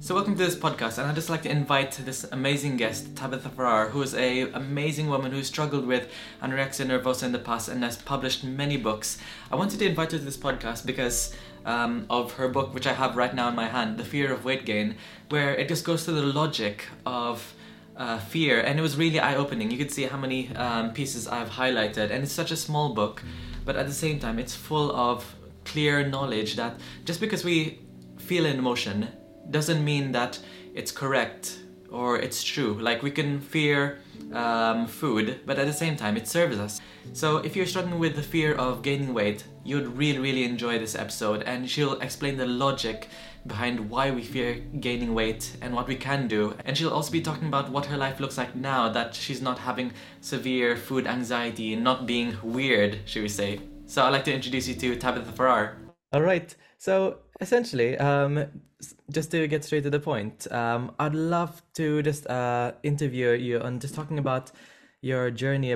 So welcome to this podcast, and I'd just like to invite this amazing guest, Tabitha Farrar, who is a amazing woman who struggled with anorexia nervosa in the past and has published many books. I wanted to invite her to this podcast because of her book, which I have right now in my hand, The Fear of Weight Gain, where it just goes through the logic of fear, and it was really eye-opening. You could see how many pieces I've highlighted, and it's such a small book, but at the same time, it's full of clear knowledge that just because we feel an emotion doesn't mean that it's correct or it's true. Like, we can fear food, but at the same time it serves us. So if you're struggling with the fear of gaining weight, you'd really enjoy this episode, and she'll explain the logic behind why we fear gaining weight and what we can do. And she'll also be talking about what her life looks like now that she's not having severe food anxiety and not being weird, should we say. So I'd like to introduce you to Tabitha Farrar. All right. So essentially, just to get straight to the point, I'd love to just interview you on just talking about your journey,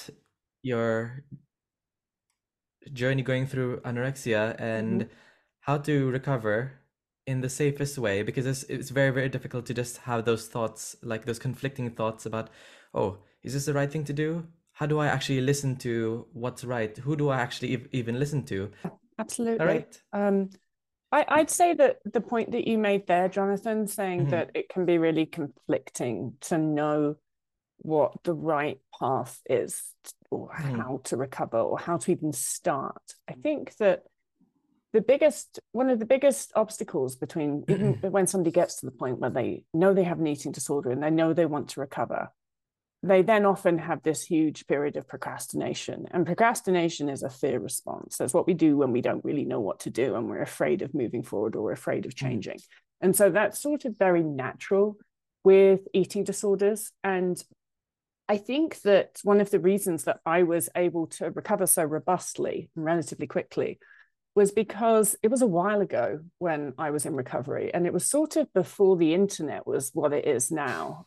going through anorexia and how to recover in the safest way, because it's very difficult to just have those thoughts, like those conflicting thoughts about, oh, is this the right thing to do? How do I actually listen to what's right? Who do I actually even listen to? Absolutely. All right. I'd say that the point that you made there, Jonathan, saying that it can be really conflicting to know what the right path is, or how to recover, or how to even start. I think that one of the biggest obstacles between even when somebody gets to the point where they know they have an eating disorder and they know they want to recover, they then often have this huge period of procrastination. And procrastination is a fear response. That's what we do when we don't really know what to do and we're afraid of moving forward or afraid of changing. And so that's sort of very natural with eating disorders. And I think that one of the reasons that I was able to recover so robustly and relatively quickly was because it was a while ago when I was in recovery, and it was sort of before the internet was what it is now.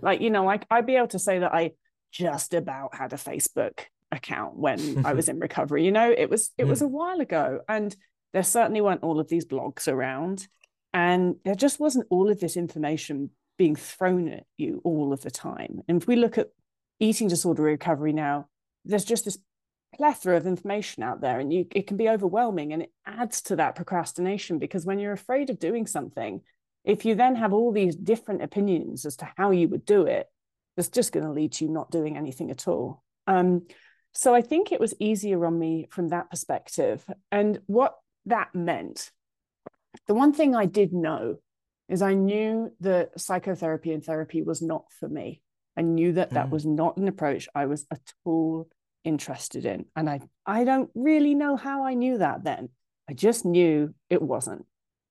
I'd be able to say that I just about had a Facebook account when I was in recovery. It was a while ago, and there certainly weren't all of these blogs around, and there just wasn't all of this information being thrown at you all of the time. And if we look at eating disorder recovery now, there's just this plethora of information out there, and it can be overwhelming, and it adds to that procrastination, because when you're afraid of doing something, if you then have all these different opinions as to how you would do it, it's just going to lead to you not doing anything at all. So I think it was easier on me from that perspective. And what that meant, the one thing I did know is I knew that psychotherapy and therapy was not for me. I knew that that was not an approach I was at all interested in. And I don't really know how I knew that then. I just knew it wasn't.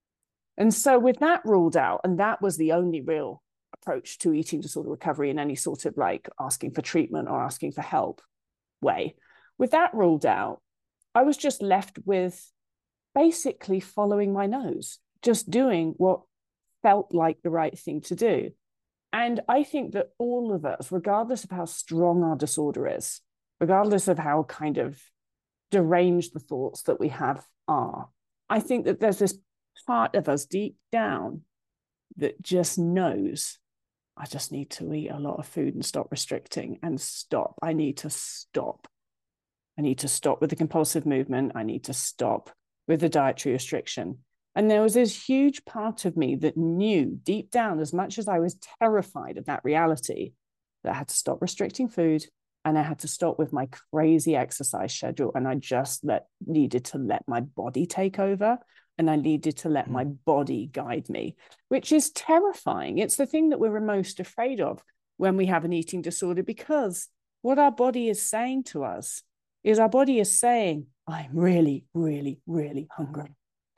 And so with that ruled out, and that was the only real approach to eating disorder recovery in any sort of like asking for treatment or asking for help way, with that ruled out, I was just left with basically following my nose, just doing what felt like the right thing to do. And I think that all of us, regardless of how strong our disorder is, regardless of how kind of deranged the thoughts that we have are, I think that there's this part of us deep down that just knows, I just need to eat a lot of food and stop restricting and stop. I need to stop. I need to stop with the compulsive movement. I need to stop with the dietary restriction. And there was this huge part of me that knew deep down, as much as I was terrified of that reality, that I had to stop restricting food, and I had to stop with my crazy exercise schedule. And I just needed to let my body take over. And I needed to let my body guide me, which is terrifying. It's the thing that we're most afraid of when we have an eating disorder, because what our body is saying to us is our body is saying, I'm really hungry.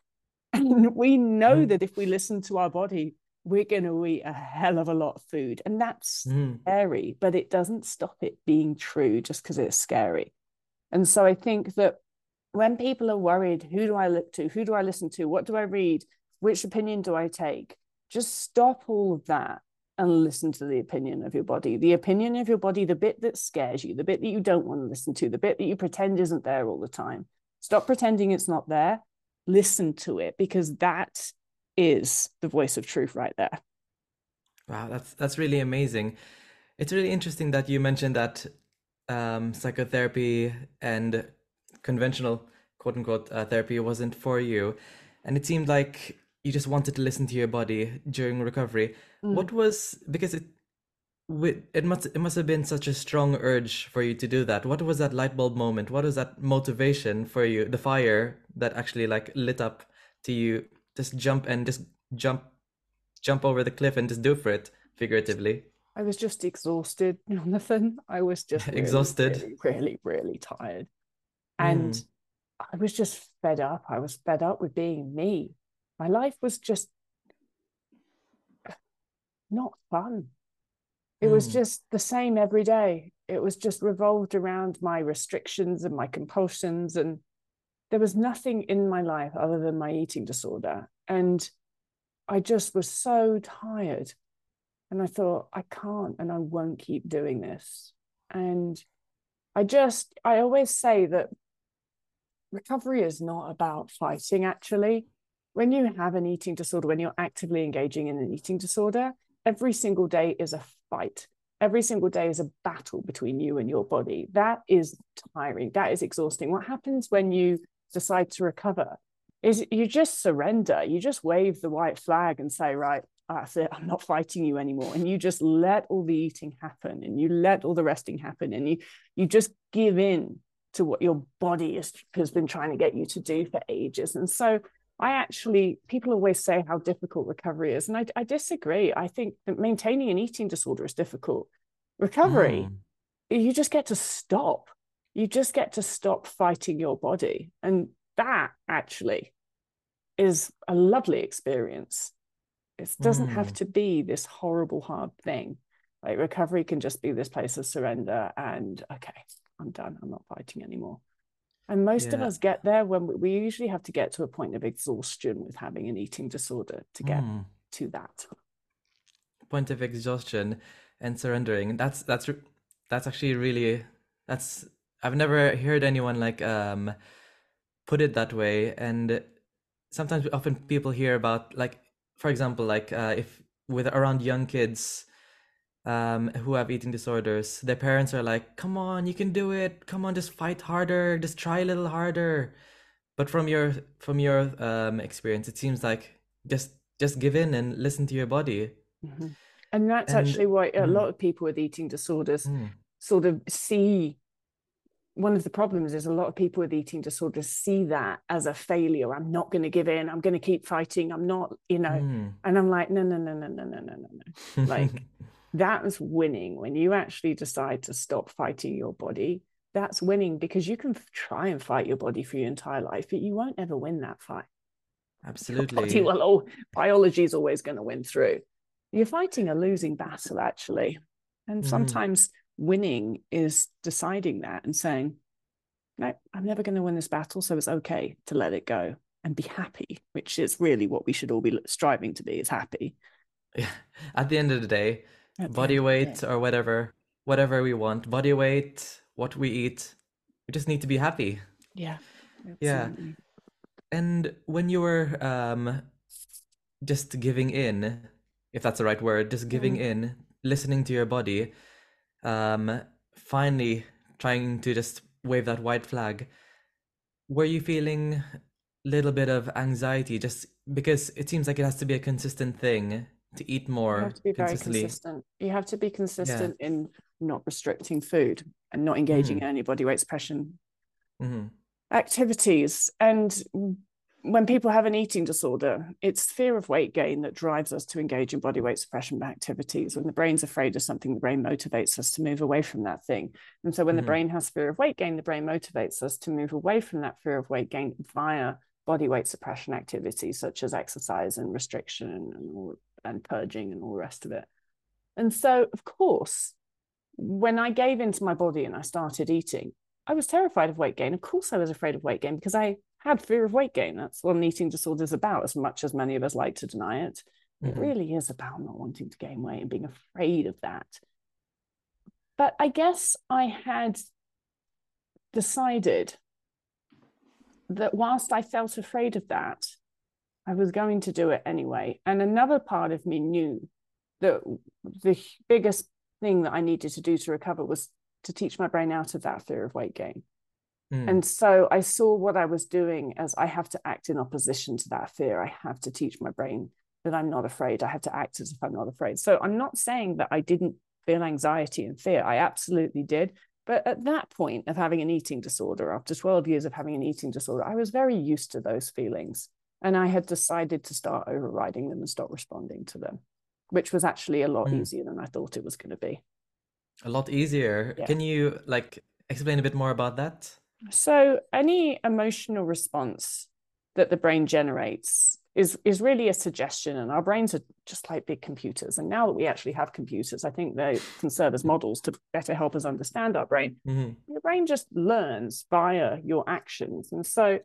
And we know that if we listen to our body, we're going to eat a hell of a lot of food. And that's scary, but it doesn't stop it being true just because it's scary. And so I think that when people are worried, who do I look to? Who do I listen to? What do I read? Which opinion do I take? Just stop all of that and listen to the opinion of your body. The opinion of your body, the bit that scares you, the bit that you don't want to listen to, the bit that you pretend isn't there all the time. Stop pretending it's not there. Listen to it, because that is the voice of truth right there. Wow, that's really amazing. It's really interesting that you mentioned that psychotherapy and conventional quote unquote therapy wasn't for you, and it seemed like you just wanted to listen to your body during recovery. Mm. What was, because it must have been such a strong urge for you to do that. What was that light bulb moment? What was that motivation for you? The fire that actually like lit up to you just jump over the cliff and just do for it, figuratively. I was just exhausted, Jonathan. I was just really, Exhausted. really, really, really tired. And Mm, I was just fed up. I was fed up with being me. My life was just not fun. It was mm, just the same every day. It was just revolved around my restrictions and my compulsions. And there was nothing in my life other than my eating disorder. And I just was so tired. And I thought, I can't and I won't keep doing this. And I always say that recovery is not about fighting, actually. When you have an eating disorder, when you're actively engaging in an eating disorder, every single day is a fight. Every single day is a battle between you and your body. That is tiring. That is exhausting. What happens when you decide to recover is you just surrender. You just wave the white flag and say, right, that's it. I'm not fighting you anymore. And you just let all the eating happen and you let all the resting happen and you just give in to what your body has been trying to get you to do for ages. And so people always say how difficult recovery is. And I disagree. I think that maintaining an eating disorder is difficult. Recovery, mm, you just get to stop. You just get to stop fighting your body. And that actually is a lovely experience. It doesn't have mm. to be this horrible, hard thing. Like recovery can just be this place of surrender and, okay, I'm done. I'm not fighting anymore. And most of Yeah. us get there when we usually have to get to a point of exhaustion with having an eating disorder to get Mm. to that. Point of exhaustion and surrendering. That's actually really, that's I've never heard anyone like put it that way. And sometimes often people hear about, like, for example, like if with around young kids who have eating disorders, their parents are like, come on, you can do it, come on, just fight harder, just try a little harder. But from your experience, it seems like just give in and listen to your body. Mm-hmm. And that's And actually why a mm, lot of people with eating disorders mm, sort of see one of the problems is a lot of people with eating disorders see that as a failure. I'm not going to give in. I'm going to keep fighting. I'm not, mm. and I'm like, no, no, no, no, no, no, no, no, no. Like that's winning when you actually decide to stop fighting your body. That's winning because you can try and fight your body for your entire life, but you won't ever win that fight. Your body Absolutely. will all biology is always going to win through. You're fighting a losing battle, actually. And Mm, sometimes winning is deciding that and saying, no, I'm never going to win this battle. So it's okay to let it go and be happy, which is really what we should all be striving to be is happy yeah. At the end of the day, at the body end of the weight day. or whatever we want, body weight, what we eat, we just need to be happy. Yeah, Yeah. absolutely. And when you were just giving in, if that's the right word, just giving Mm. in, listening to your body, um, finally trying to just wave that white flag, were you feeling a little bit of anxiety just because it seems like it has to be a consistent thing to eat You have more to be very consistently? consistent. You have to be Yeah. consistent in not restricting food and not engaging Mm-hmm. in any body weight suppression Mm-hmm. activities. And when people have an eating disorder, it's fear of weight gain that drives us to engage in body weight suppression activities. When the brain's afraid of something, the brain motivates us to move away from that thing. And so when the Mm-hmm. brain has fear of weight gain, the brain motivates us to move away from that fear of weight gain via body weight suppression activities such as exercise and restriction and purging and all the rest of it. And so, of course, when I gave into my body and I started eating, I was terrified of weight gain. Of course, I was afraid of weight gain because I had fear of weight gain. That's what an eating disorder is about, as much as many of us like to deny it. It Mm-hmm. really is about not wanting to gain weight and being afraid of that. But I guess I had decided that whilst I felt afraid of that, I was going to do it anyway. And another part of me knew that the biggest thing that I needed to do to recover was to teach my brain out of that fear of weight gain. And so I saw what I was doing as I have to act in opposition to that fear. I have to teach my brain that I'm not afraid. I have to act as if I'm not afraid. So I'm not saying that I didn't feel anxiety and fear. I absolutely did. But at that point of having an eating disorder, after 12 years of having an eating disorder, I was very used to those feelings. And I had decided to start overriding them and stop responding to them, which was actually a lot easier than I thought it was going to be. A lot easier. Yeah. Can you like explain a bit more about that? So any emotional response that the brain generates is really a suggestion, and our brains are just like big computers. And now that we actually have computers, I think they can serve as models to better help us understand our brain. Your brain just learns via your actions. And so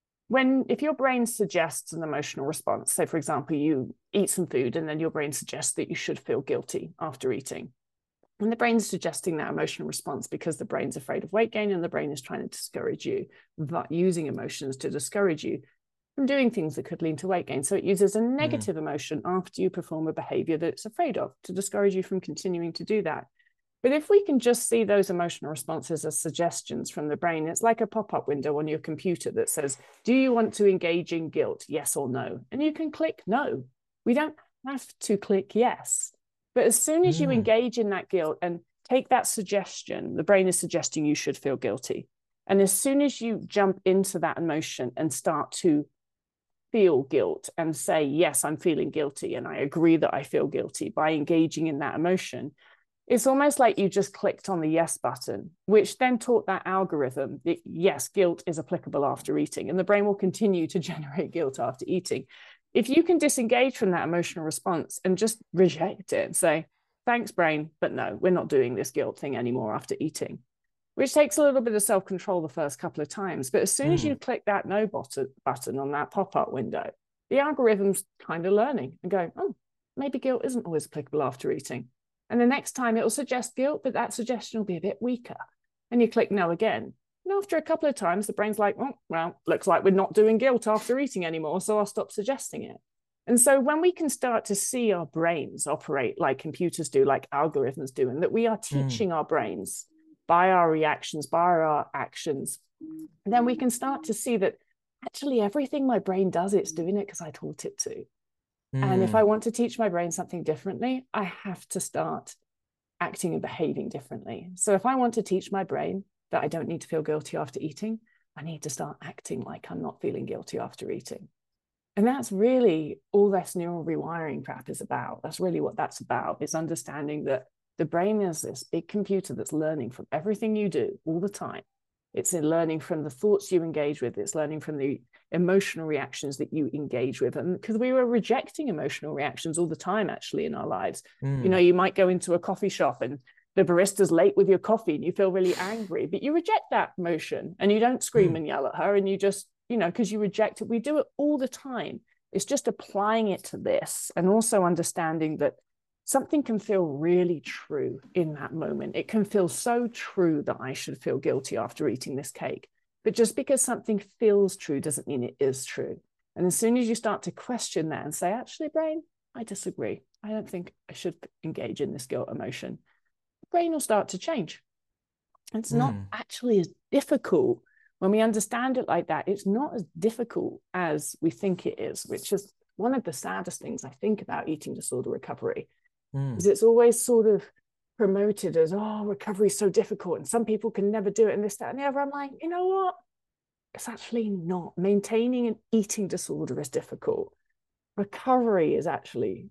if your brain suggests an emotional response, say for example you eat some food and then your brain suggests that you should feel guilty after eating, and the brain's suggesting that emotional response because the brain's afraid of weight gain and the brain is trying to discourage you, but using emotions to discourage you from doing things that could lead to weight gain. So it uses a negative emotion after you perform a behavior that it's afraid of to discourage you from continuing to do that. But if we can just see those emotional responses as suggestions from the brain, it's like a pop-up window on your computer that says, do you want to engage in guilt? Yes or no? And you can click no. We don't have to click yes. But as soon as you engage in that guilt and take that suggestion, the brain is suggesting you should feel guilty. And as soon as you jump into that emotion and start to feel guilt and say, yes, I'm feeling guilty and I agree that I feel guilty by engaging in that emotion, it's almost like you just clicked on the yes button, which then taught that algorithm that yes, guilt is applicable after eating, and the brain will continue to generate guilt after eating. If you can disengage from that emotional response and just reject it and say, thanks, brain, but no, we're not doing this guilt thing anymore after eating, which takes a little bit of self-control the first couple of times. But as soon as you click that no button on that pop-up window, the algorithm's kind of learning and going, oh, maybe guilt isn't always applicable after eating. And the next time it will suggest guilt, but that suggestion will be a bit weaker. And you click no again. And after a couple of times, the brain's like, oh, well, looks like we're not doing guilt after eating anymore, so I'll stop suggesting it. And so when we can start to see our brains operate like computers do, like algorithms do, and that we are teaching our brains by our reactions, by our actions, then we can start to see that actually everything my brain does, it's doing it because I taught it to. And if I want to teach my brain something differently, I have to start acting and behaving differently. So if I want to teach my brain that I don't need to feel guilty after eating, I need to start acting like I'm not feeling guilty after eating. And that's really all this neural rewiring crap is about. That's really what that's about, is understanding that the brain is this big computer that's learning from everything you do all the time. It's in learning from the thoughts you engage with. It's learning from the emotional reactions that you engage with. And because we were rejecting emotional reactions all the time, actually, in our lives. You know, you might go into a coffee shop and the barista's late with your coffee and you feel really angry, but you reject that emotion and you don't scream and yell at her, and you just, you know, because you reject it. We do it all the time. It's just applying it to this and also understanding that something can feel really true in that moment. It can feel so true that I should feel guilty after eating this cake. But just because something feels true doesn't mean it is true. And as soon as you start to question that and say, actually, brain, I disagree. I don't think I should engage in this guilt emotion. The brain will start to change. It's not actually as difficult when we understand it like that. It's not as difficult as we think it is, which is one of the saddest things I think about eating disorder recovery. Is it's always sort of promoted as, oh, recovery is so difficult and some people can never do it and this, that, and the other. I'm like, you know what? It's actually not. Maintaining an eating disorder is difficult. Recovery is actually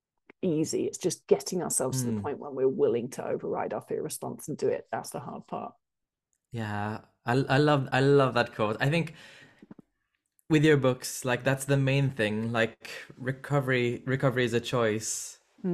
easy. It's just getting ourselves to the point when we're willing to override our fear response and do it. That's the hard part. Yeah, I love that quote. I think with your books, like that's the main thing. Like recovery is a choice.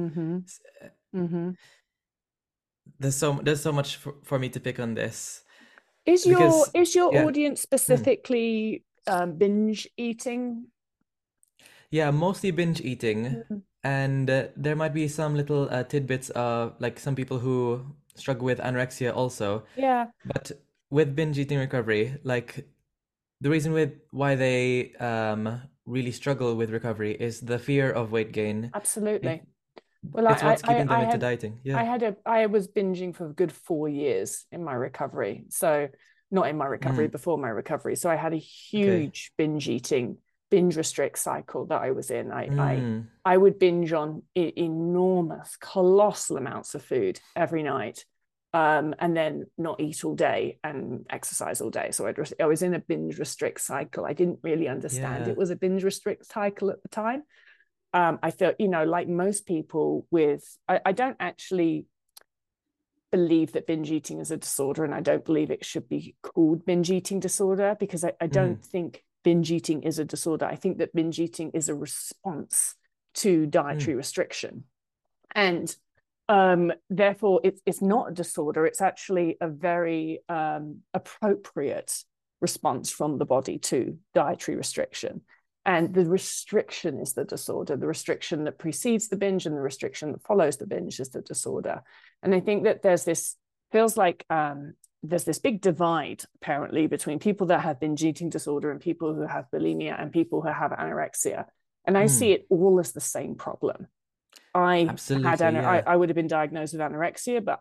There's so much for me to pick on this. Is your audience specifically binge eating? Yeah, mostly binge eating. And there might be some little tidbits of like some people who struggle with anorexia also. Yeah. But with binge eating recovery, like the reason why they really struggle with recovery is the fear of weight gain. Absolutely. It, Well, it's what's keeping them into dieting. Yeah. I was binging for a good 4 years in my recovery. So not in my recovery, Mm, before my recovery. So I had a okay. huge binge restrict cycle that I was in. Mm, I would binge on enormous, colossal amounts of food every night, and then not eat all day and exercise all day. So I was in a binge restrict cycle. I didn't really understand yeah. it was a binge restrict cycle at the time. I felt, like most people I don't actually believe that binge eating is a disorder, and I don't believe it should be called binge eating disorder, because I Mm, don't think binge eating is a disorder. I think that binge eating is a response to mm, dietary restriction. And therefore, it's not a disorder. It's actually a very appropriate response from the body to dietary restriction. And the restriction is the disorder. The restriction that precedes the binge and the restriction that follows the binge is the disorder. And I think that feels like there's this big divide apparently between people that have binge eating disorder and people who have bulimia and people who have anorexia. And I see mm. it all as the same problem. Absolutely. Yeah. I would have been diagnosed with anorexia, but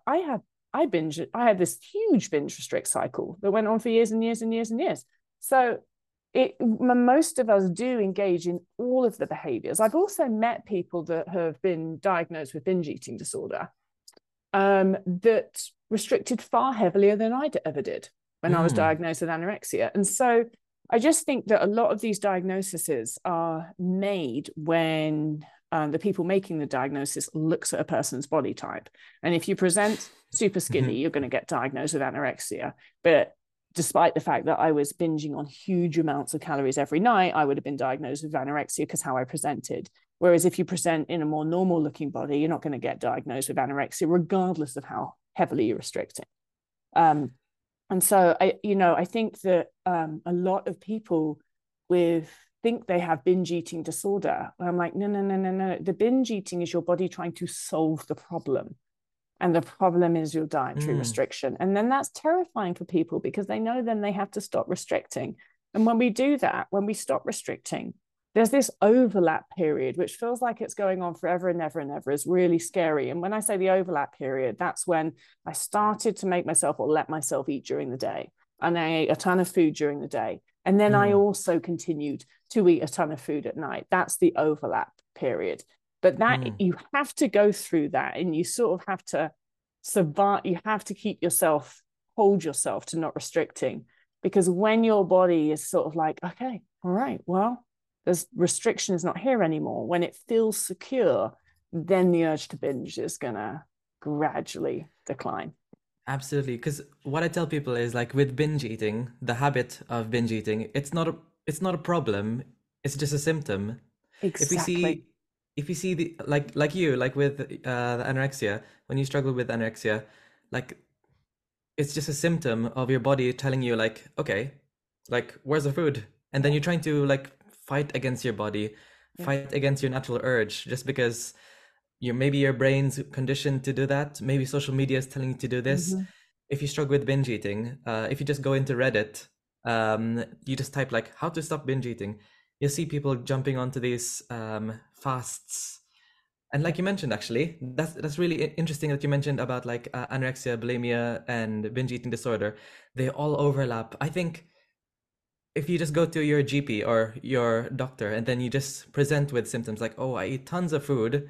I had this huge binge restrict cycle that went on for years and years and years and years. So most of us do engage in all of the behaviors. I've also met people that have been diagnosed with binge eating disorder, that restricted far heavier than I ever did when I was Mm, diagnosed with anorexia. And so I just think that a lot of these diagnoses are made when the people making the diagnosis looks at a person's body type. And if you present super skinny, mhm. you're going to get diagnosed with anorexia. But despite the fact that I was binging on huge amounts of calories every night, I would have been diagnosed with anorexia because how I presented. Whereas if you present in a more normal looking body, you're not going to get diagnosed with anorexia, regardless of how heavily you're restricting. Um, and so I think that a lot of people with think they have binge eating disorder. I'm like, no, no, no, no, no. The binge eating is your body trying to solve the problem. And the problem is your dietary Mm, restriction. And then that's terrifying for people because they know then they have to stop restricting. And when we do that, when we stop restricting, there's this overlap period, which feels like it's going on forever and ever and ever, is really scary. And when I say the overlap period, that's when I started to make myself or let myself eat during the day. And I ate a ton of food during the day. And then I mm, also continued to eat a ton of food at night. That's the overlap period. But mm. you have to go through that, and you sort of have to survive. You have to hold yourself to not restricting, because when your body is sort of like, okay, all right, well, there's restriction is not here anymore. When it feels secure, then the urge to binge is gonna gradually decline. Absolutely. Because what I tell people is like with binge eating, the habit of binge eating, it's not a problem. It's just a symptom. If we Exactly. see if you see the like you like with the anorexia, when you struggle with anorexia, like it's just a symptom of your body telling you like, okay, like where's the food? And then you're trying to like fight against your body, Yeah. fight against your natural urge just because maybe your brain's conditioned to do that. Maybe social media is telling you to do this. Mm-hmm. If you struggle with binge eating, if you just go into Reddit, you just type like how to stop binge eating, you'll see people jumping onto these fasts. And like you mentioned, actually, that's really interesting that you mentioned about like anorexia, bulimia, and binge eating disorder. They all overlap. I think if you just go to your GP or your doctor and then you just present with symptoms like, oh, I eat tons of food,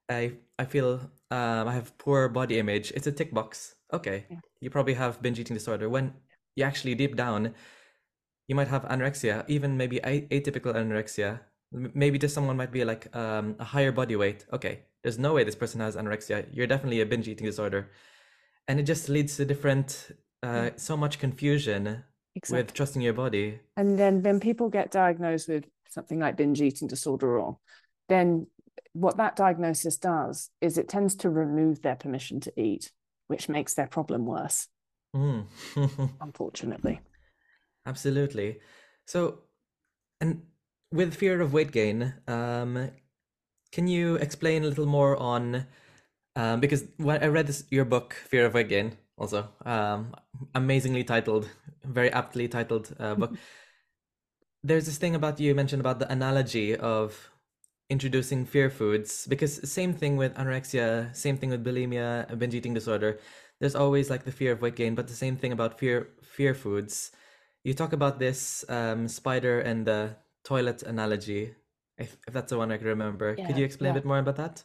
I feel I have poor body image. It's a tick box. Okay, Yeah. you probably have binge eating disorder. When you actually deep down, you might have anorexia, even maybe atypical anorexia. Maybe just someone might be like a higher body weight. Okay, there's no way this person has anorexia. You're definitely a binge eating disorder, and it just leads to different, Yeah. so much confusion with Exactly. trusting your body. And then when people get diagnosed with something like binge eating disorder, or then what that diagnosis does is it tends to remove their permission to eat, which makes their problem worse, Mm. unfortunately. Absolutely. So, and with fear of weight gain, can you explain a little more on because when I read your book, Fear of Weight Gain, also amazingly titled, very aptly titled book. there's this thing about you mentioned about the analogy of introducing fear foods, because same thing with anorexia, same thing with bulimia, binge eating disorder. There's always like the fear of weight gain, but the same thing about fear foods. You talk about this spider and the toilet analogy, if that's the one I can remember. Could Yeah, you explain a yeah. bit more about that?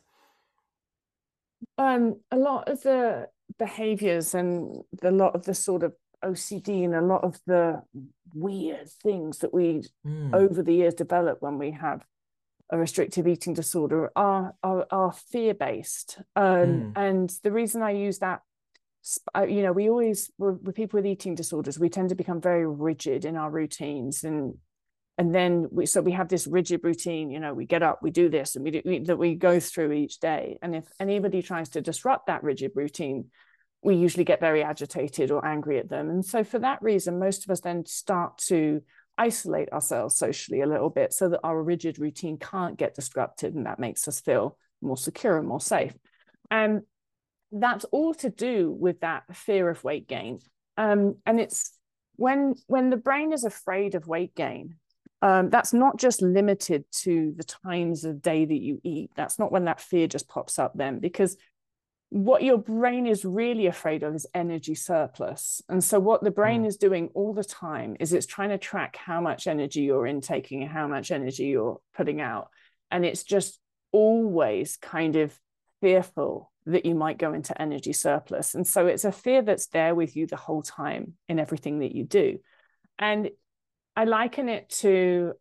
A lot of the behaviors and a lot of the sort of OCD and a lot of the weird things that we Mm, over the years develop when we have a restrictive eating disorder are fear based. mm, And the reason I use that, you know, we always with people with eating disorders, we tend to become very rigid in our routines, and then we have this rigid routine. You know, we get up, we do this, and that we go through each day. And if anybody tries to disrupt that rigid routine, we usually get very agitated or angry at them. And so for that reason, most of us then start to isolate ourselves socially a little bit so that our rigid routine can't get disrupted, and that makes us feel more secure and more safe. And that's all to do with that fear of weight gain. And it's when the brain is afraid of weight gain, that's not just limited to the times of day that you eat. That's not when that fear just pops up then, because what your brain is really afraid of is energy surplus. And so what the brain mm, is doing all the time is it's trying to track how much energy you're intaking and how much energy you're putting out. And it's just always kind of fearful that you might go into energy surplus. And so it's a fear that's there with you the whole time in everything that you do. And I liken it to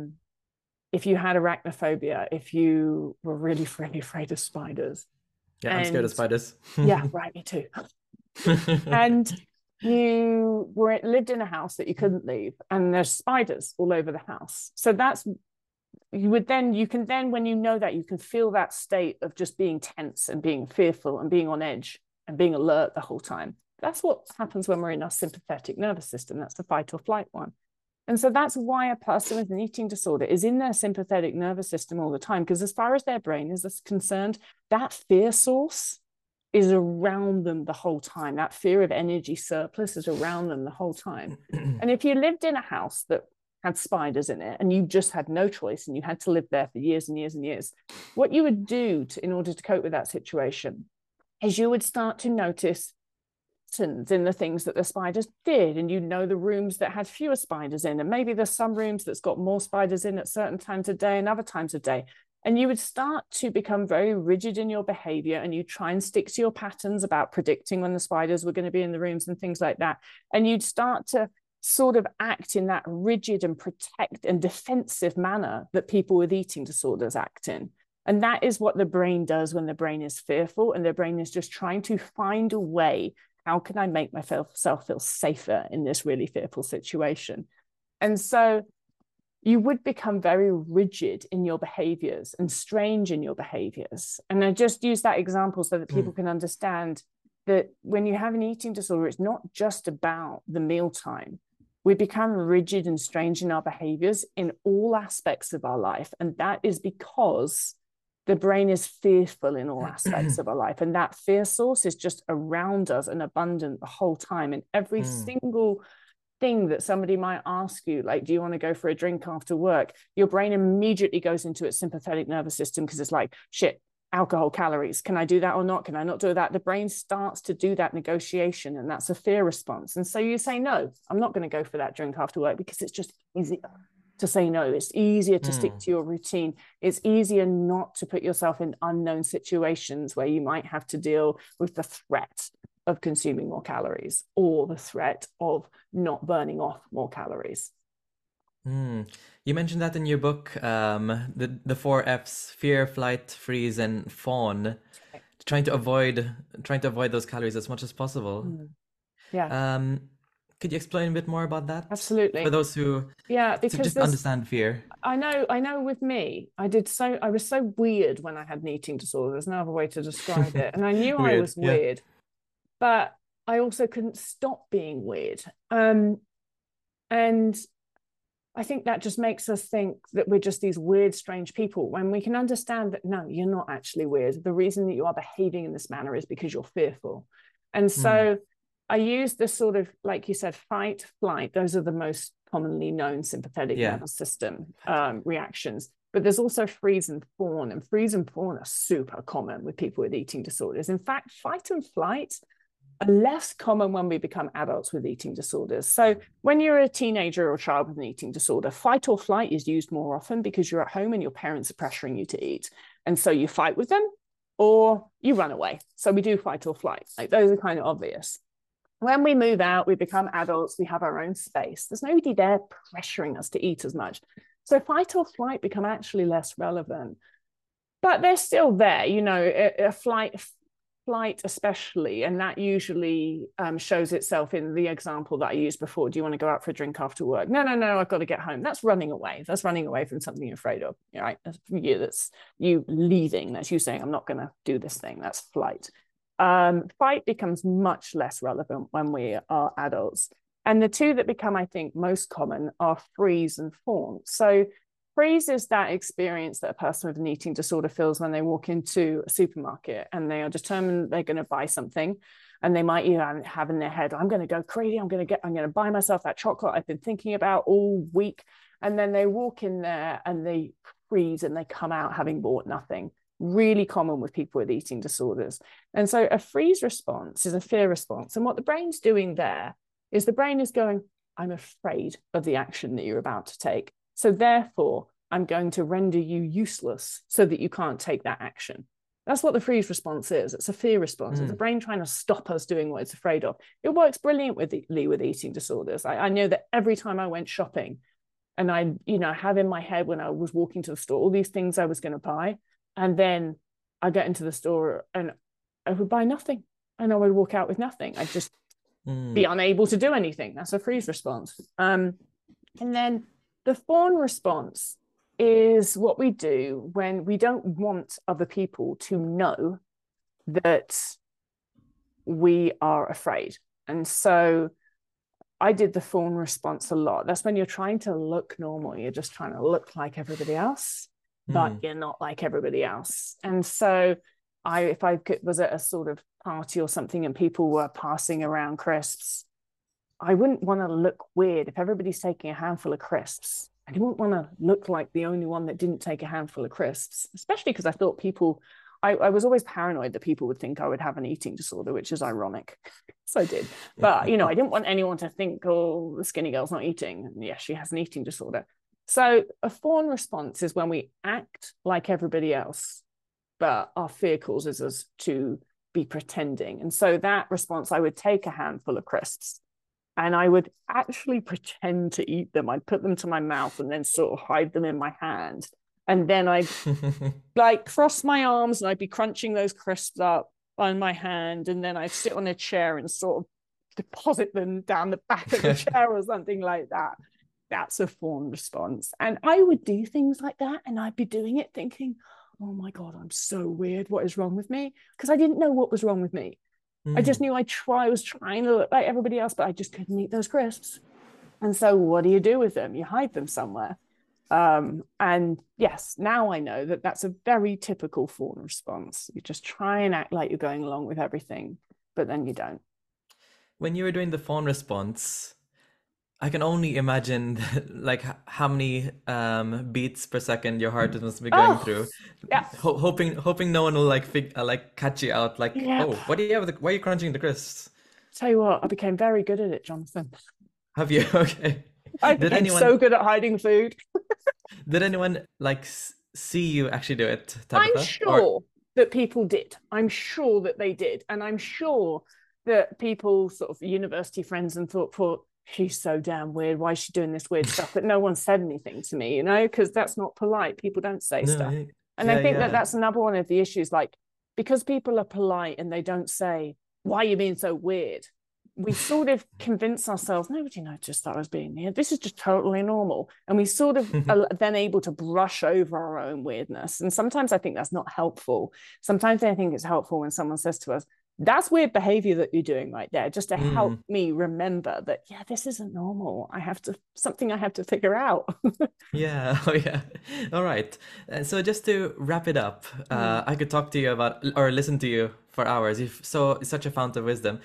if you had arachnophobia, if you were really, really afraid of spiders. yeah, I'm scared of And spiders. yeah, right, me too. And you lived in a house that you couldn't leave, and there's spiders all over the house. So that's you can then, when you know that, you can feel that state of just being tense and being fearful and being on edge and being alert the whole time. That's what happens when we're in our sympathetic nervous system. That's the fight or flight one. And so that's why a person with an eating disorder is in their sympathetic nervous system all the time, because as far as their brain is concerned, that fear source is around them the whole time. That fear of energy surplus is around them the whole time. And if you lived in a house that had spiders in it and you just had no choice and you had to live there for years and years and years, what you would do in order to cope with that situation is you would start to notice in the things that the spiders did, and you know the rooms that had fewer spiders in, and maybe there's some rooms that's got more spiders in at certain times of day and other times of day, and you would start to become very rigid in your behavior, and you try and stick to your patterns about predicting when the spiders were going to be in the rooms and things like that, and you'd start to sort of act in that rigid and protect and defensive manner that people with eating disorders act in. And that is what the brain does when the brain is fearful, and the brain is just trying to find a way, how can I make myself feel safer in this really fearful situation? And so you would become very rigid in your behaviors and strange in your behaviors. And I just use that example so that people can understand that when you have an eating disorder, it's not just about the mealtime. We become rigid and strange in our behaviors in all aspects of our life. And that is because the brain is fearful in all aspects of our life, and that fear source is just around us and abundant the whole time. And every single thing that somebody might ask you, like, do you want to go for a drink after work, your brain immediately goes into its sympathetic nervous system, because it's like, shit, alcohol, calories, can I do that or not? Can I not do that? The brain starts to do that negotiation, and that's a fear response. And so you say, no, I'm not going to go for that drink after work, because it's just easier to say no. It's easier to stick to your routine. It's easier not to put yourself in unknown situations where you might have to deal with the threat of consuming more calories or the threat of not burning off more calories. You mentioned that in your book, the four Fs: fear, flight, freeze, and fawn. Trying to avoid those calories as much as possible. Yeah, Could you explain a bit more about that for absolutely. those who Yeah, to because just there's understand fear? I know with me, I was so weird when I had an eating disorder. There's no other way to describe it. And I knew I Weird, was yeah. weird, but I also couldn't stop being weird. And I think that just makes us think that we're just these weird, strange people, when we can understand that no, you're not actually weird. The reason that you are behaving in this manner is because you're fearful. And Mm, so I use this sort of, like you said, fight, flight. Those are the most commonly known sympathetic Yeah. nervous system reactions. But there's also freeze and fawn, and freeze and fawn are super common with people with eating disorders. In fact, fight and flight are less common when we become adults with eating disorders. So when you're a teenager or a child with an eating disorder, fight or flight is used more often because you're at home and your parents are pressuring you to eat. And so you fight with them or you run away. So we do fight or flight. Like those are kind of obvious. When we move out, we become adults, we have our own space. There's nobody there pressuring us to eat as much. So fight or flight become actually less relevant, but they're still there, you know, a flight especially, and that usually shows itself in the example that I used before. Do you want to go out for a drink after work? No, I've got to get home. That's running away. That's running away from something you're afraid of, right? That's you leaving. That's you saying, I'm not going to do this thing. That's flight. Fight becomes much less relevant when we are adults. And the two that become, I think, most common are freeze and fawn. So freeze is that experience that a person with an eating disorder feels when they walk into a supermarket and they are determined they're going to buy something. And they might even have in their head, I'm going to go crazy. I'm going to buy myself that chocolate I've been thinking about all week. And then they walk in there and they freeze and they come out having bought nothing. Really common with people with eating disorders. And so a freeze response is a fear response. And what the brain's doing there is the brain is going, I'm afraid of the action that you're about to take. So therefore, I'm going to render you useless so that you can't take that action. That's what the freeze response is. It's a fear response. It's the brain trying to stop us doing what it's afraid of. It works brilliantly with eating disorders. I know that every time I went shopping and I, have in my head when I was walking to the store, all these things I was going to buy. And then I get into the store and I would buy nothing and I would walk out with nothing. I'd just be unable to do anything. That's a freeze response. And then the fawn response is what we do when we don't want other people to know that we are afraid. And so I did the fawn response a lot. That's when you're trying to look normal. You're just trying to look like everybody else, but you're not like everybody else. And so if I was at a sort of party or something and people were passing around crisps, I wouldn't want to look weird if everybody's taking a handful of crisps. I didn't want to look like the only one that didn't take a handful of crisps, especially because I thought I was always paranoid that people would think I would have an eating disorder, which is ironic. So I did. But, I didn't want anyone to think, oh, the skinny girl's not eating. And yes, she has an eating disorder. So a fawn response is when we act like everybody else, but our fear causes us to be pretending. And so that response, I would take a handful of crisps and I would actually pretend to eat them. I'd put them to my mouth and then sort of hide them in my hand. And then I'd cross my arms and I'd be crunching those crisps up on my hand. And then I'd sit on a chair and sort of deposit them down the back of the chair or something like that. That's a fawn response. And I would do things like that. And I'd be doing it thinking, oh my God, I'm so weird. What is wrong with me? Because I didn't know what was wrong with me. I just knew I was trying to look like everybody else, but I just couldn't eat those crisps. And so what do you do with them? You hide them somewhere. And yes, now I know that that's a very typical fawn response. You just try and act like you're going along with everything, but then you don't. When you were doing the fawn response, I can only imagine how many beats per second your heart must be going through. Yeah. Hoping no one will catch you out. Oh, what do you have? Why are you crunching the crisps? Tell you what, I became very good at it, Jonathan. Have you? Okay. I became so good at hiding food. Did anyone see you actually do it, Tabitha? I'm sure that people did. I'm sure that they did, and I'm sure that people, sort of university friends, and thought, she's so damn weird. Why is she doing this weird stuff? But no one said anything to me, because that's not polite. People don't say stuff. And I think that's another one of the issues, because people are polite and they don't say, why are you being so weird? We sort of convince ourselves, nobody noticed that I was being weird. This is just totally normal. And we sort of are then able to brush over our own weirdness. And sometimes I think that's not helpful. Sometimes I think it's helpful when someone says to us, that's weird behavior that you're doing right there, just to help me remember that, this isn't normal. Something I have to figure out. Yeah. Oh, yeah. All right. So just to wrap it up, I could talk to you about or listen to you for hours. You're such a fount of wisdom.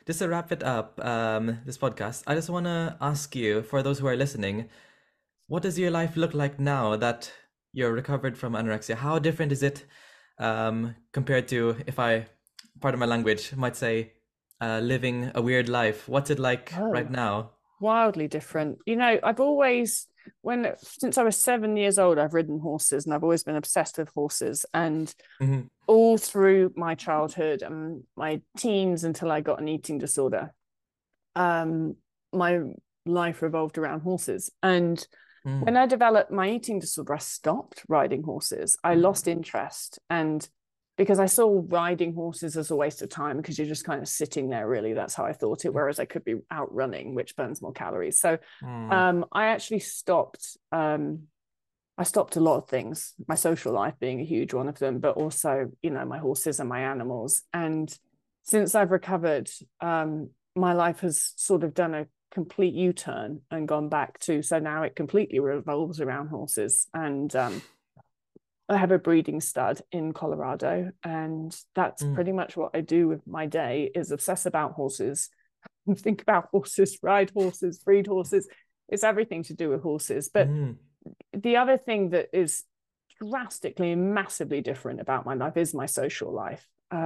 just to wrap it up, this podcast, I just want to ask you, for those who are listening, what does your life look like now that you're recovered from anorexia? How different is it compared to, if I, pardon my language, might say, living a weird life? What's it like right Oh, now? wildly different. I've always, since I was 7 years old, I've ridden horses and I've always been obsessed with horses. And Hmm. all through my childhood and my teens until I got an eating disorder, um, my life revolved around horses. And when Mm. I developed my eating disorder, I stopped riding horses. I lost interest. And because I saw riding horses as a waste of time because you're just kind of sitting there, really. That's how I thought it, whereas I could be out running, which burns more calories. So Mm. I actually stopped. I stopped a lot of things, my social life being a huge one of them, but also, my horses and my animals. And since I've recovered, my life has sort of done a complete U-turn and gone back to, so now it completely revolves around horses. And I have a breeding stud in Colorado, and that's Mm. pretty much what I do with my day is obsess about horses, think about horses, ride horses, breed horses. It's everything to do with horses. But Mm. the other thing that is drastically and massively different about my life is my social life.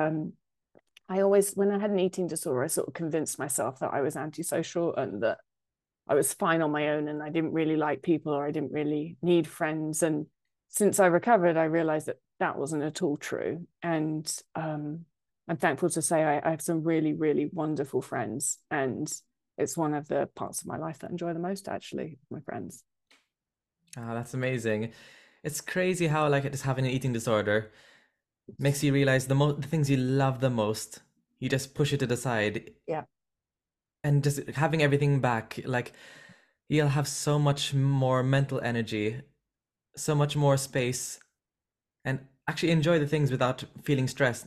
I always, when I had an eating disorder, I sort of convinced myself that I was antisocial and that I was fine on my own and I didn't really like people or I didn't really need friends. And since I recovered, I realized that that wasn't at all true. And I'm thankful to say I have some really, really wonderful friends. And it's one of the parts of my life that I enjoy the most, actually, my friends. Ah, that's amazing. It's crazy how like just having an eating disorder makes you realize the things you love the most, you just push it to the side, Yeah. and just having everything back, like you'll have so much more mental energy, so much more space, and actually enjoy the things without feeling stressed,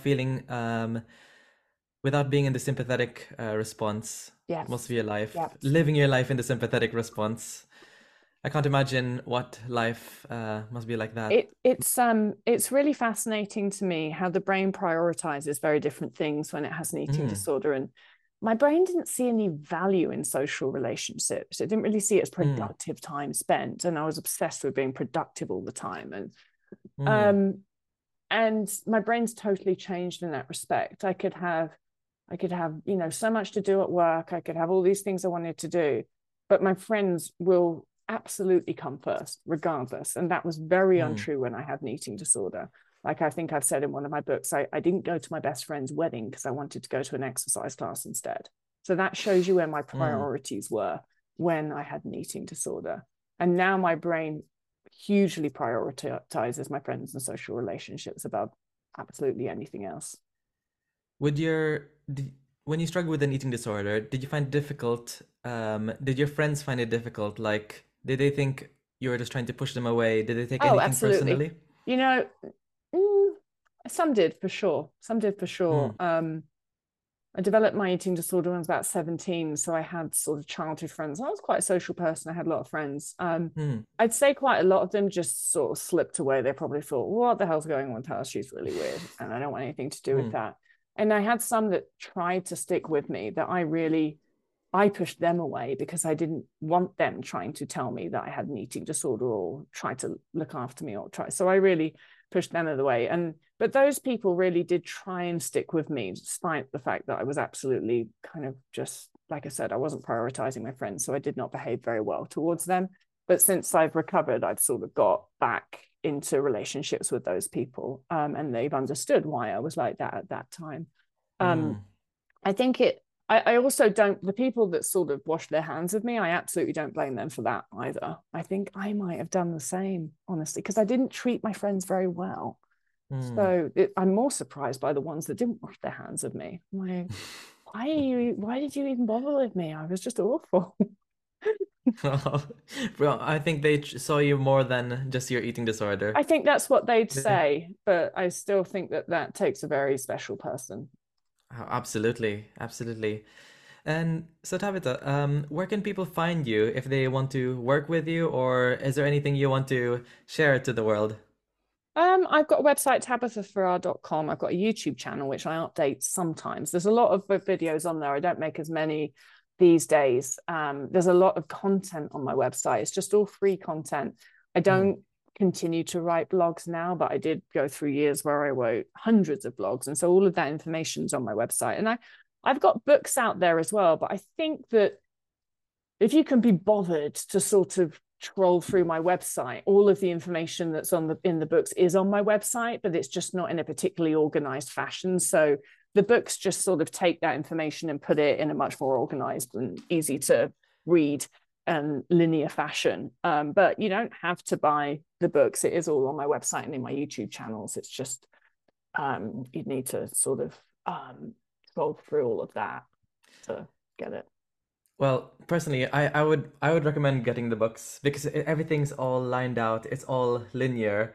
without being in the sympathetic response most of Yes. your life, Yes. living your life in the sympathetic response. I can't imagine what life must be like that. It's really fascinating to me how the brain prioritizes very different things when it has an eating Mm, disorder. And my brain didn't see any value in social relationships. It didn't really see it as mm, productive time spent. And I was obsessed with being productive all the time. mm, Um and my brain's totally changed in that respect. I could have, so much to do at work. I could have all these things I wanted to do, but my friends will absolutely come first, regardless. And that was very mm, untrue when I had an eating disorder. Like I think I've said in one of my books, I didn't go to my best friend's wedding because I wanted to go to an exercise class instead. So that shows you where my mm. priorities were when I had an eating disorder. And now my brain hugely prioritizes my friends and social relationships above absolutely anything else. Would your did, when you struggle with an eating disorder, did you find it difficult? Did your friends find it difficult? Like, did they think you were just trying to push them away? Did they take Oh, anything absolutely. personally? You know, mm, some did for sure. Some did for sure. Mm, I developed my eating disorder when I was about 17. So I had sort of childhood friends. I was quite a social person. I had a lot of friends. mm, I'd say quite a lot of them just sort of slipped away. They probably thought, what the hell's going on with her? She's really weird. And I don't want anything to do with mm, that. And I had some that tried to stick with me that I pushed them away because I didn't want them trying to tell me that I had an eating disorder or try to look after me or try. So I really pushed them out of the way. But those people really did try and stick with me, despite the fact that I was absolutely kind of just, like I said, I wasn't prioritizing my friends. So I did not behave very well towards them. But since I've recovered, I've sort of got back into relationships with those people. And they've understood why I was like that at that time. Um, mm. I think I also don't, the people that sort of wash their hands of me, I absolutely don't blame them for that either. I think I might have done the same, honestly, because I didn't treat my friends very well. Mm. So I'm more surprised by the ones that didn't wash their hands of me. I'm like, why did you even bother with me? I was just awful. Bro, I think they saw you more than just your eating disorder. I think that's what they'd Yeah. say, but I still think that that takes a very special person. Absolutely, absolutely. And so Tabitha, where can people find you if they want to work with you, or is there anything you want to share to the world? I've got a website, tabithafarrar.com. I've got a YouTube channel, which I update sometimes. There's a lot of videos on there. I don't make as many these days. There's a lot of content on my website. It's just all free content. I don't continue to write blogs now, but I did go through years where I wrote hundreds of blogs. And so all of that information's on my website. And I've got books out there as well. But I think that if you can be bothered to sort of troll through my website, all of the information that's in the books is on my website, but it's just not in a particularly organized fashion. So the books just sort of take that information and put it in a much more organized and easy to read and linear fashion. But you don't have to buy the books. It is all on my website and in my YouTube channels. It's just you'd need to sort of scroll through all of that to get it. Well, personally, I would recommend getting the books because everything's all lined out. It's all linear.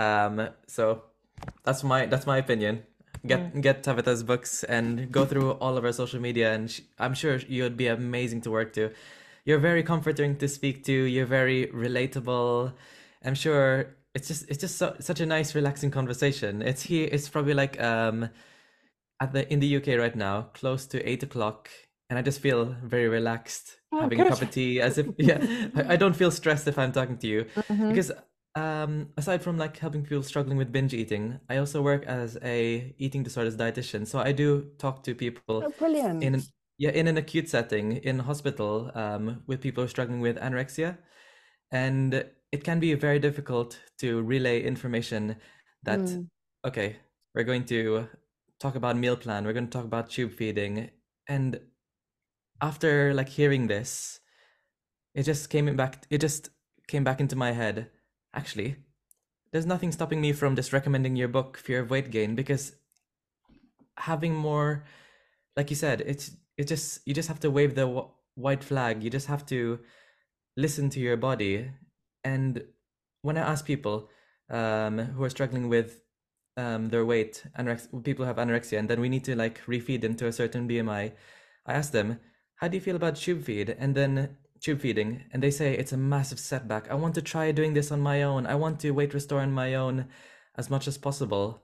So that's my opinion. Get Tabitha's books and go through all of her social media, and I'm sure you'd be amazing to work to. You're very comforting to speak to. You're very relatable. I'm sure it's just such a nice, relaxing conversation. It's here. It's probably like in the UK right now, close to 8 o'clock, and I just feel very relaxed having a Good. cup of tea, as if I don't feel stressed if I'm talking to you because aside from like helping people struggling with binge eating, I also work as a eating disorders dietitian. So I do talk to people Oh, brilliant. in in an acute setting in hospital with people who are struggling with anorexia, and it can be very difficult to relay information that okay, we're going to talk about meal plan, we're going to talk about tube feeding, and after like hearing this, it just came back into my head. Actually, there's nothing stopping me from just recommending your book, Fear of Weight Gain, because having more, like you said, you just have to wave the white flag. You just have to listen to your body. And when I ask people who are struggling with their weight, people who have anorexia, and then we need to like refeed them to a certain BMI, I ask them, how do you feel about tube feed? And then tube feeding, and they say it's a massive setback. I want to try doing this on my own. I want to weight restore on my own as much as possible.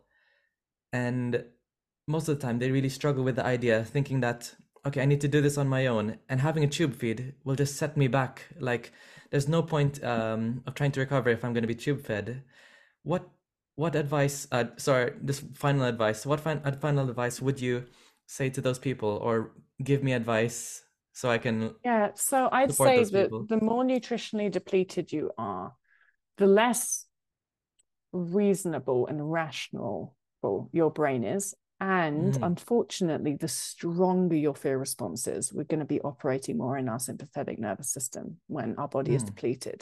And most of the time, they really struggle with the idea, thinking that, okay, I need to do this on my own, and having a tube feed will just set me back. Like, there's no point of trying to recover if I'm going to be tube fed. What what advice? Sorry, this final advice. What final advice would you say to those people, or give me advice so I can Yeah, so I'd support say those that people? the more nutritionally depleted you are, the less reasonable and rational your brain is. And Mm, unfortunately, the stronger your fear response is, we're going to be operating more in our sympathetic nervous system when our body is mm, depleted.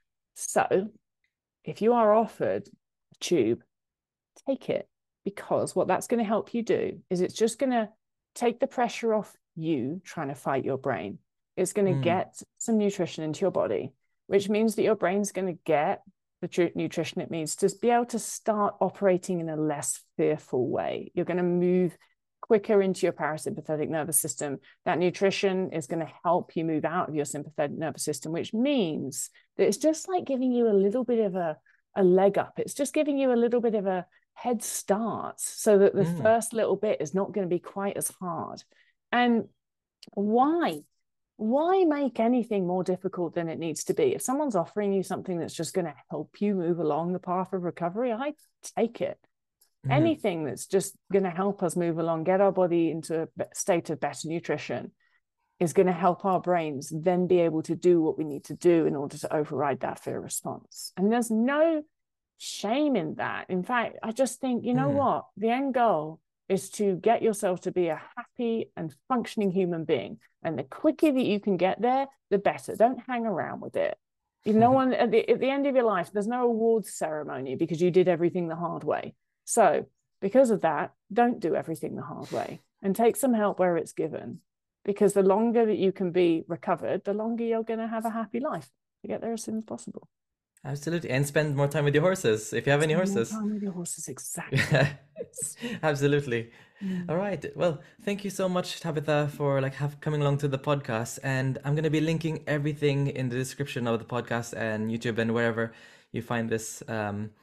So if you are offered a tube, take it, because what that's going to help you do is it's just going to take the pressure off you trying to fight your brain. It's going to mm, get some nutrition into your body, which means that your brain's going to get the nutrition it needs to be able to start operating in a less fearful way. You're going to move quicker into your parasympathetic nervous system. That nutrition is going to help you move out of your sympathetic nervous system, which means that it's just like giving you a little bit of a leg up. It's just giving you a little bit of a head start so that the mm. first little bit is not going to be quite as hard. And why? Why make anything more difficult than it needs to be? If someone's offering you something that's just going to help you move along the path of recovery, I take it. Mm. Anything that's just going to help us move along, get our body into a state of better nutrition, is going to help our brains then be able to do what we need to do in order to override that fear response. And there's no shame in that. In fact, I just think, you know Mm. what? The end goal is to get yourself to be a happy and functioning human being. And the quicker that you can get there, the better. Don't hang around with it. No one at the end of your life, there's no awards ceremony because you did everything the hard way. So because of that, don't do everything the hard way and take some help where it's given. Because the longer that you can be recovered, the longer you're going to have a happy life to get there as soon as possible. Absolutely. And spend more time with your horses if you have any Spend more horses. time with your horses, exactly. Absolutely. All Mm. right. Well, thank you so much, Tabitha, for like coming along to the podcast. And I'm gonna be linking everything in the description of the podcast and YouTube and wherever you find this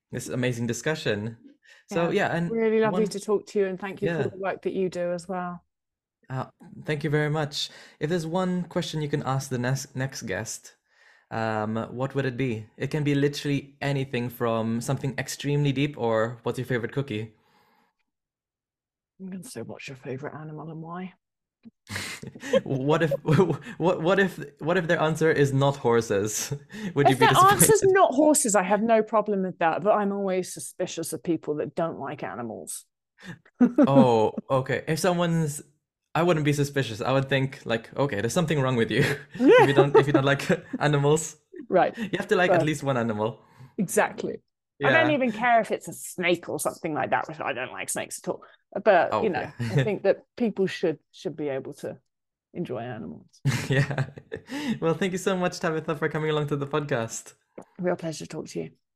this amazing discussion. So Yeah, yeah, and really lovely one, to talk to you, and thank you for yeah, the work that you do as well. uh, thank you very much. If there's one question you can ask the next guest, what would it be? It can be literally anything from something extremely deep or what's your favorite cookie? I'm going to say, what's your favorite animal and why? What if what if their answer is not horses? Would you If be their answer's disappointed? not horses, I have no problem with that, but I'm always suspicious of people that don't like animals. Oh, okay. If someone's, I wouldn't be suspicious. I would think like, okay, there's something wrong with you if you don't like animals. Right. You have to like at But least one animal. exactly. I don't Yeah. even care if it's a snake or something like that, which I don't like snakes at all. But Oh, yeah. I think that people should be able to enjoy animals. Yeah. Well, thank you so much, Tabitha, for coming along to the podcast. Real pleasure to talk to you.